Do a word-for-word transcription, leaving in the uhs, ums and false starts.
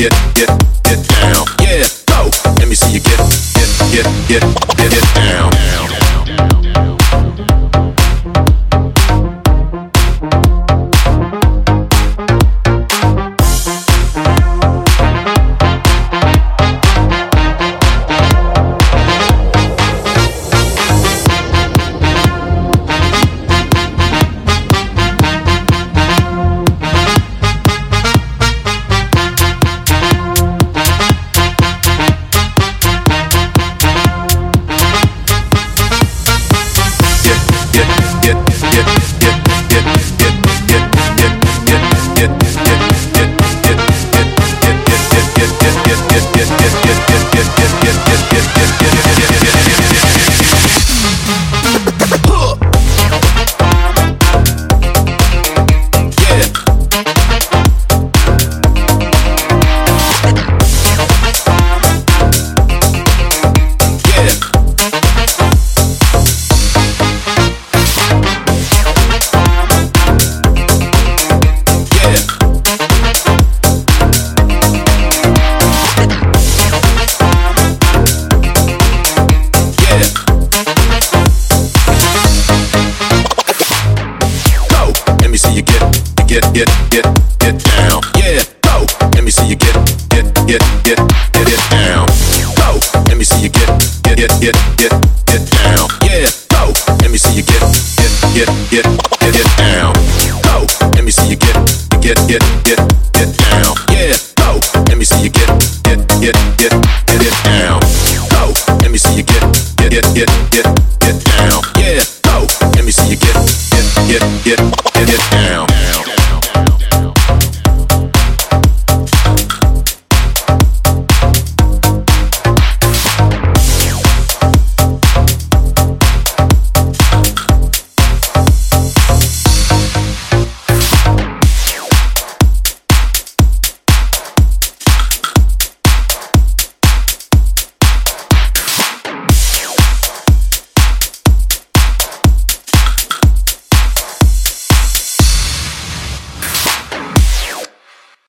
get, get, get down. Yeah, go. Let me see you get, get, get, get, get, get down. Get, get, get, get down. Yeah, go. Let me see you get, get, get, get, get it down. Go. Let me see you get, get, get, get, get, get down. Yeah, go. Let me see you get, get, get, get, get it down. Go. Let me see you get, get, get, get, get down. Yeah, go. Let me see you get, get, get, get, get it down. Go. Let me see you get, get, get, get, get, get down. Yeah, go. Let me see you get, get, get, get.